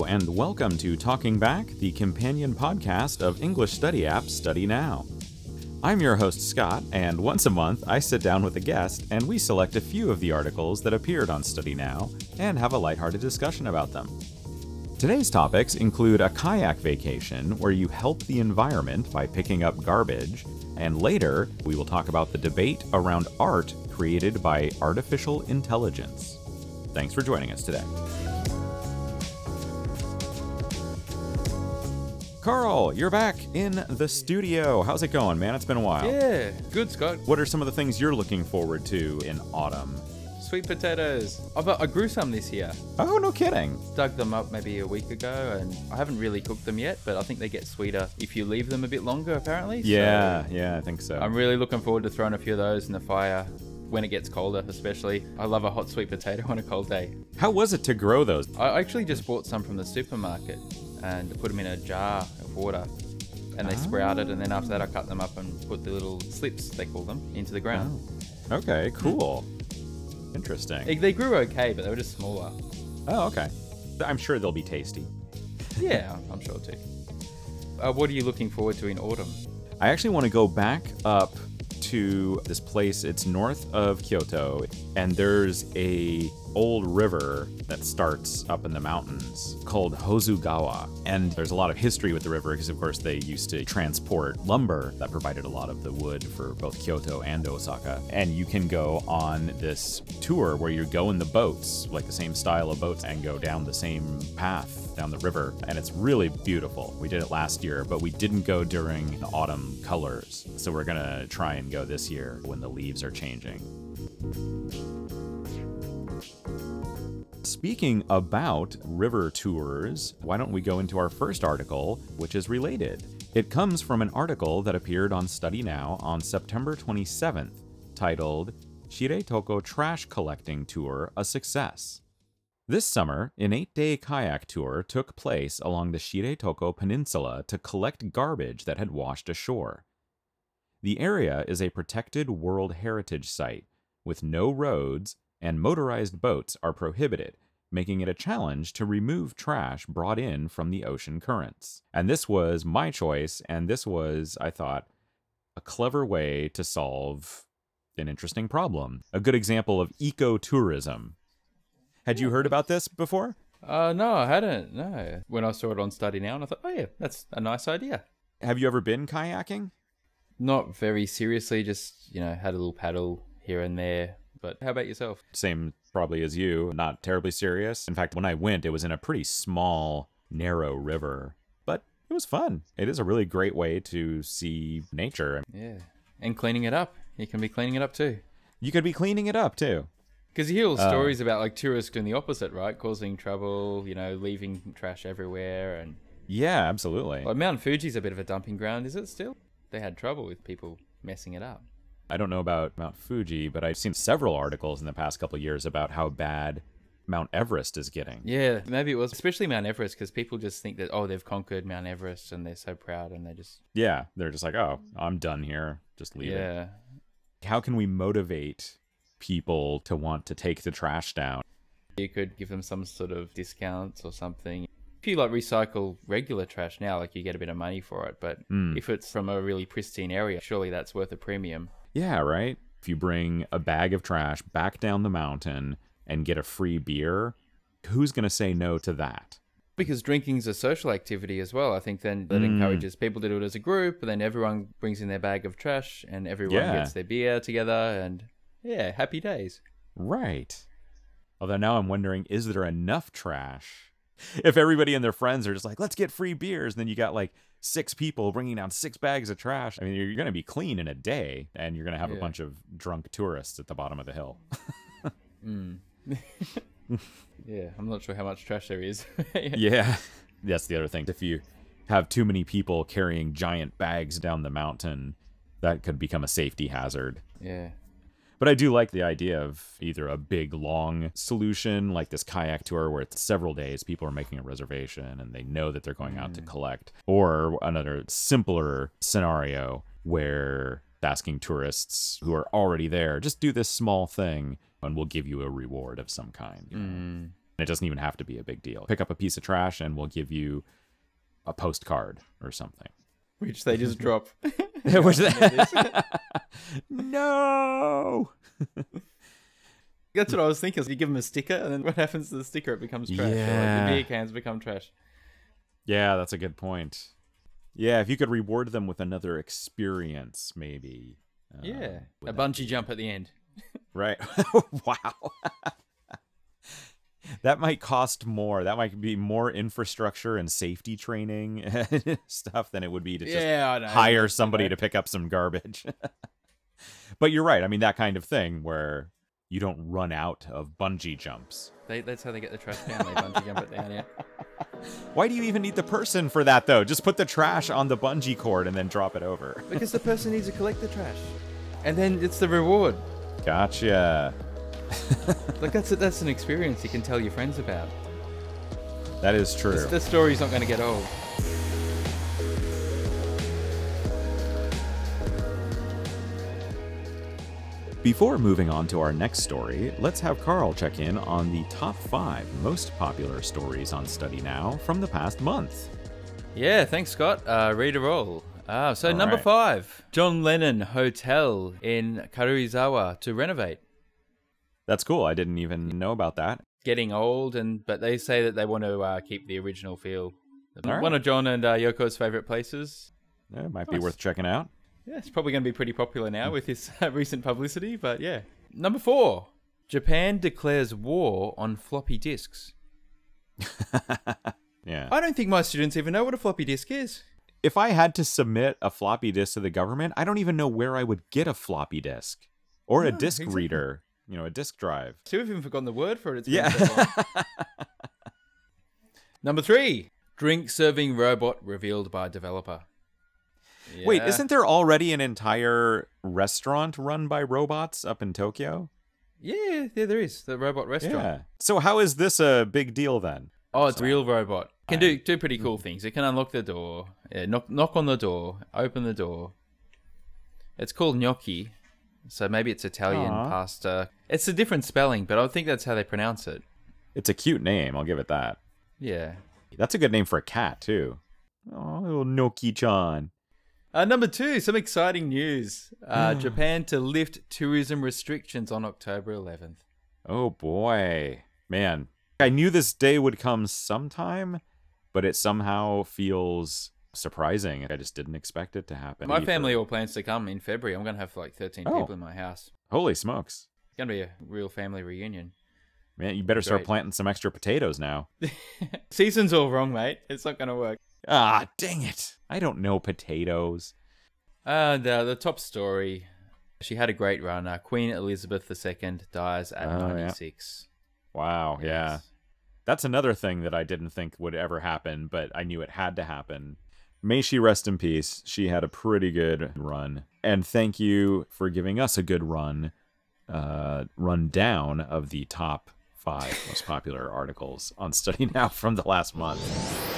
and welcome to Talking Back, the companion podcast of English study app Study Now. I'm your host, Scott, and once a month I sit down with a guest and we select a few of the articles that appeared on Study Now and have a lighthearted discussion about them. Today's topics include a kayak vacation where you help the environment by picking up garbage, and later we will talk about the debate around art created by artificial intelligence. Thanks for joining us today. Carl, you're back in the studio. How's it going, man? It's been a while. Yeah, good, Scott. What are some of the things you're looking forward to in autumn? Sweet potatoes. I grew some this year. Oh, no kidding. Dug them up maybe a week ago, and I haven't really cooked them yet, but I think they get sweeter if you leave them a bit longer, apparently. Yeah, I think so. I'm really looking forward to throwing a few of those in the fire when it gets colder, especially. I love a hot sweet potato on a cold day. How was it to grow those? I actually just bought some from the supermarket and put them in a jar of water, and they sprouted, and then after that I cut them up and put the little slips, they call them, into the ground. Oh. Okay, cool. Interesting. They grew okay, but they were just smaller. Oh, okay. I'm sure they'll be tasty. Yeah, I'm sure too. What are you looking forward to in autumn? I actually want to go back up to this place. It's north of Kyoto, and there's a old river that starts up in the mountains called Hozugawa. And there's a lot of history with the river because, of course, they used to transport lumber that provided a lot of the wood for both Kyoto and Osaka. And you can go on this tour where you go in the boats, like the same style of boats, and go down the same path down the river. And it's really beautiful. We did it last year, but we didn't go during the autumn colors. So we're going to try and go this year when the leaves are changing. Speaking about river tours, why don't we go into our first article, which is related. It comes from an article that appeared on Study Now on September 27th, titled, Shiretoko Trash Collecting Tour a Success. This summer, an 8-day kayak tour took place along the Shiretoko Peninsula to collect garbage that had washed ashore. The area is a protected World Heritage Site, with no roads, and motorized boats are prohibited, making it a challenge to remove trash brought in from the ocean currents. And this was my choice, and this was, I thought, a clever way to solve an interesting problem. A good example of ecotourism. Had you heard about this before? No, I hadn't. No. When I saw it on Study Now, and I thought, oh yeah, that's a nice idea. Have you ever been kayaking? Not very seriously, just, had a little paddle here and there. But how about yourself? Same probably as you, not terribly serious. In fact, when I went, it was in a pretty small, narrow river. But it was fun. It is a really great way to see nature. Yeah. And cleaning it up. You can be cleaning it up too. You could be cleaning it up too. Because you hear all stories about like tourists doing the opposite, right? Causing trouble, leaving trash everywhere. And yeah, absolutely. Like Mount Fuji's a bit of a dumping ground, is it still? They had trouble with people messing it up. I don't know about Mount Fuji, but I've seen several articles in the past couple of years about how bad Mount Everest is getting. Yeah, maybe it was, especially Mount Everest, because people just think that, they've conquered Mount Everest and they're so proud and they just... Yeah, they're just like, oh, I'm done here. Just leave it. How can we motivate people to want to take the trash down? You could give them some sort of discounts or something. If you recycle regular trash now, you get a bit of money for it, but if it's from a really pristine area, surely that's worth a premium. Yeah, right? If you bring a bag of trash back down the mountain and get a free beer, who's going to say no to that? Because drinking's a social activity as well. I think then that encourages people to do it as a group, and then everyone brings in their bag of trash and everyone gets their beer together, and happy days. Right. Although now I'm wondering, is there enough trash? If everybody and their friends are just like, let's get free beers, and then you got 6 people bringing down 6 bags of trash. I mean, you're going to be clean in a day, and you're going to have a bunch of drunk tourists at the bottom of the hill. Yeah, I'm not sure how much trash there is. Yeah, that's the other thing. If you have too many people carrying giant bags down the mountain, that could become a safety hazard. Yeah. But I do like the idea of either a big, long solution, like this kayak tour where it's several days, people are making a reservation and they know that they're going out to collect, or another simpler scenario where asking tourists who are already there, just do this small thing and we'll give you a reward of some kind. It doesn't even have to be a big deal. Pick up a piece of trash and we'll give you a postcard or something. Which they just drop. Which No! That's what I was thinking. So you give them a sticker, and then what happens to the sticker? It becomes trash. Yeah. Or like the beer cans become trash. Yeah, that's a good point. Yeah, if you could reward them with another experience, maybe. Yeah. A bungee jump at the end. Right. Wow. That might cost more. That might be more infrastructure and safety training and stuff than it would be to just hire somebody to pick up some garbage. But you're right. I mean, that kind of thing where you don't run out of bungee jumps. That's how they get the trash down. They bungee jump it down, yeah. Why do you even need the person for that, though? Just put the trash on the bungee cord and then drop it over. Because the person needs to collect the trash. And then it's the reward. Gotcha. Like, that's an experience you can tell your friends about. That is true. The story's not going to get old. Before moving on to our next story, let's have Carl check in on the top 5 most popular stories on Study Now from the past month. Yeah, thanks, Scott. Read a roll. So number right. 5, John Lennon Hotel in Karuizawa to renovate. That's cool. I didn't even know about that. Getting old, but they say that they want to keep the original feel. All One right. of John and Yoko's favorite places. It might be worth checking out. Yeah, it's probably going to be pretty popular now with this recent publicity, but yeah. Number 4, Japan declares war on floppy disks. Yeah. I don't think my students even know what a floppy disk is. If I had to submit a floppy disk to the government, I don't even know where I would get a floppy disk or a disk reader, a disk drive. So we've even forgotten the word for it. It's Yeah. been so long. Number 3, drink serving robot revealed by developer. Yeah. Wait, isn't there already an entire restaurant run by robots up in Tokyo? Yeah, there is. The robot restaurant. Yeah. So how is this a big deal then? Oh, it's a real robot. Can do pretty cool things. It can unlock the door, knock on the door, open the door. It's called gnocchi, so maybe it's Italian pasta. It's a different spelling, but I think that's how they pronounce it. It's a cute name, I'll give it that. Yeah. That's a good name for a cat, too. Oh, little Noki-chan. Number 2, some exciting news. Japan to lift tourism restrictions on October 11th. Oh, boy. Man, I knew this day would come sometime, but it somehow feels surprising. I just didn't expect it to happen. My family all plans to come in February. I'm going to have like 13 people in my house. Holy smokes. It's going to be a real family reunion. Man, you better start planting some extra potatoes now. Season's all wrong, mate. It's not going to work. Ah, dang it. I don't know potatoes. The top story. She had a great run. Queen Elizabeth II dies at 96. Yeah. Wow, yeah. Yes. That's another thing that I didn't think would ever happen, but I knew it had to happen. May she rest in peace. She had a pretty good run. And thank you for giving us a good rundown of the top 5 most popular articles on Study Now from the last month.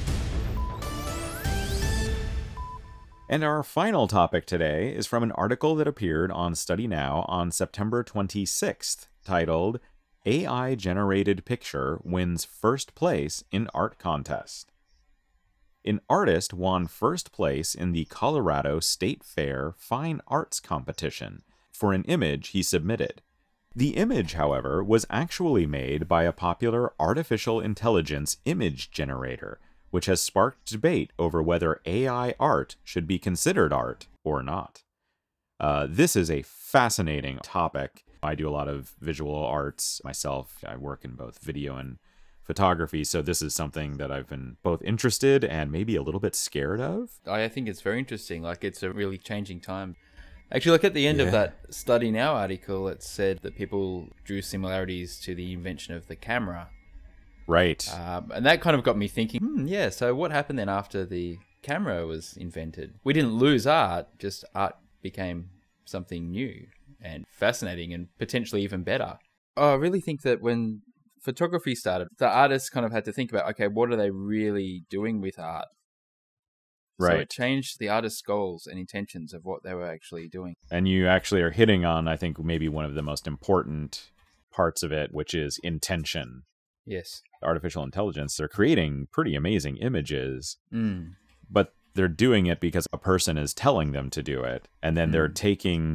And our final topic today is from an article that appeared on Study Now on September 26th, titled AI-Generated Picture Wins First Place in Art Contest. An artist won first place in the Colorado State Fair Fine Arts Competition for an image he submitted. The image, however, was actually made by a popular artificial intelligence image generator, which has sparked debate over whether AI art should be considered art or not. This is a fascinating topic. I do a lot of visual arts myself. I work in both video and photography, so this is something that I've been both interested and maybe a little bit scared of. I think it's very interesting. Like, it's a really changing time. Actually, like at the end of that Study Now article, it said that people drew similarities to the invention of the camera. Right. And that kind of got me thinking, so what happened then after the camera was invented? We didn't lose art, just art became something new and fascinating and potentially even better. I really think that when photography started, the artists kind of had to think about, okay, what are they really doing with art? Right. So it changed the artist's goals and intentions of what they were actually doing. And you actually are hitting on, I think, maybe one of the most important parts of it, which is intention. Yes. Artificial intelligence, they're creating pretty amazing images, Mm. but they're doing it because a person is telling them to do it. And then they're taking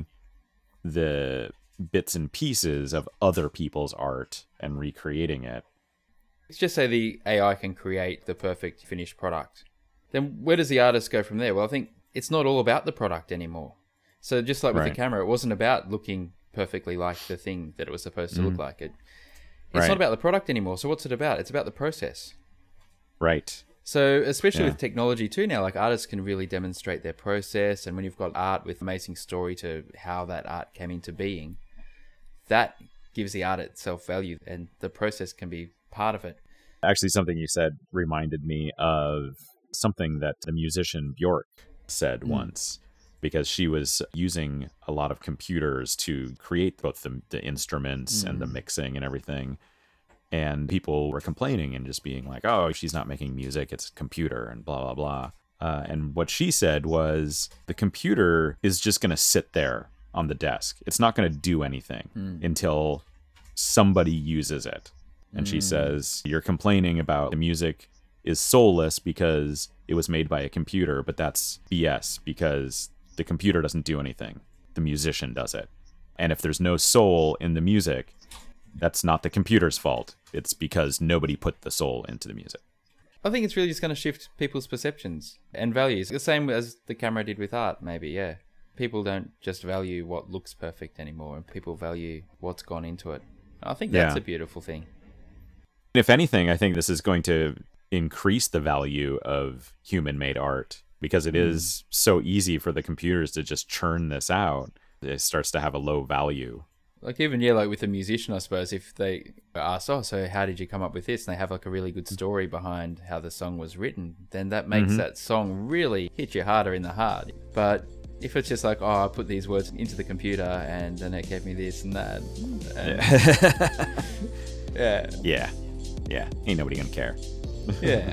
the bits and pieces of other people's art and recreating it. Let's just say the AI can create the perfect finished product. Then where does the artist go from there? Well, I think it's not all about the product anymore. So just like with the camera, it wasn't about looking perfectly like the thing that it was supposed to look like. It's not about the product anymore. So what's it about? It's about the process. Right. So especially with technology too now, like artists can really demonstrate their process. And when you've got art with amazing story to how that art came into being, that gives the art itself value, and the process can be part of it. Actually, something you said reminded me of something that the musician Bjork said once, because she was using a lot of computers to create both the instruments and the mixing and everything. And people were complaining and just being like, oh, she's not making music, it's a computer and blah, blah, blah. And what she said was the computer is just going to sit there on the desk. It's not going to do anything until somebody uses it. And she says, you're complaining about the music is soulless because it was made by a computer, but that's BS because the computer doesn't do anything. The musician does it. And if there's no soul in the music, that's not the computer's fault. It's because nobody put the soul into the music. I think it's really just going to shift people's perceptions and values. The same as the camera did with art, maybe, yeah. People don't just value what looks perfect anymore, and people value what's gone into it. I think that's a beautiful thing. If anything, I think this is going to increase the value of human-made art because it is so easy for the computers to just churn this out. It starts to have a low value. Like even, like with a musician, I suppose, if they ask, oh, so how did you come up with this? And they have like a really good story behind how the song was written, then that makes that song really hit you harder in the heart. But if it's just like, oh, I put these words into the computer and then it gave me this and that. And Yeah. Ain't nobody gonna care. Yeah.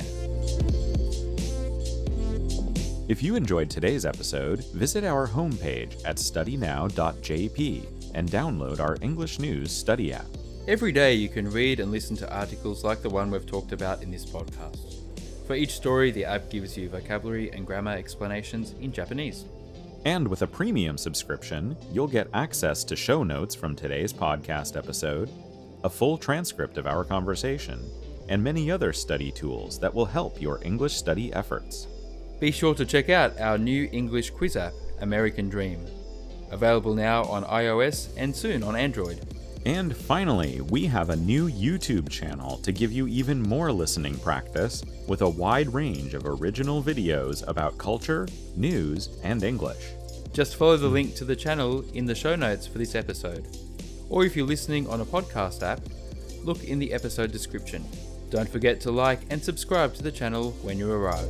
If you enjoyed today's episode, visit our homepage at studynow.jp and download our English News Study app. Every day you can read and listen to articles like the one we've talked about in this podcast. For each story, the app gives you vocabulary and grammar explanations in Japanese. And with a premium subscription, you'll get access to show notes from today's podcast episode, a full transcript of our conversation, and many other study tools that will help your English study efforts. Be sure to check out our new English quiz app, American Dream. Available now on iOS and soon on Android. And finally, we have a new YouTube channel to give you even more listening practice with a wide range of original videos about culture, news, and English. Just follow the link to the channel in the show notes for this episode. Or if you're listening on a podcast app, look in the episode description. Don't forget to like and subscribe to the channel when you arrive.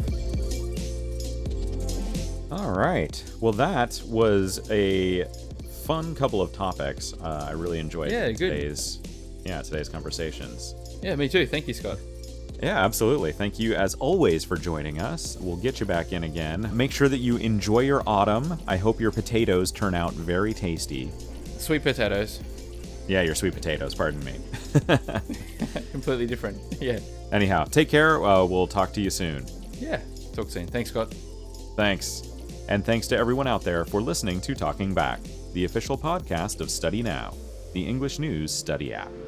All right. Well, that was a fun couple of topics. I really enjoyed today's conversations. Yeah, me too. Thank you, Scott. Yeah, absolutely. Thank you, as always, for joining us. We'll get you back in again. Make sure that you enjoy your autumn. I hope your potatoes turn out very tasty. Sweet potatoes. Yeah, your sweet potatoes, pardon me. Completely different. Yeah. Anyhow, take care. We'll talk to you soon. Yeah, talk soon. Thanks, Scott. Thanks. And thanks to everyone out there for listening to Talking Back, the official podcast of Study Now, the English News Study app.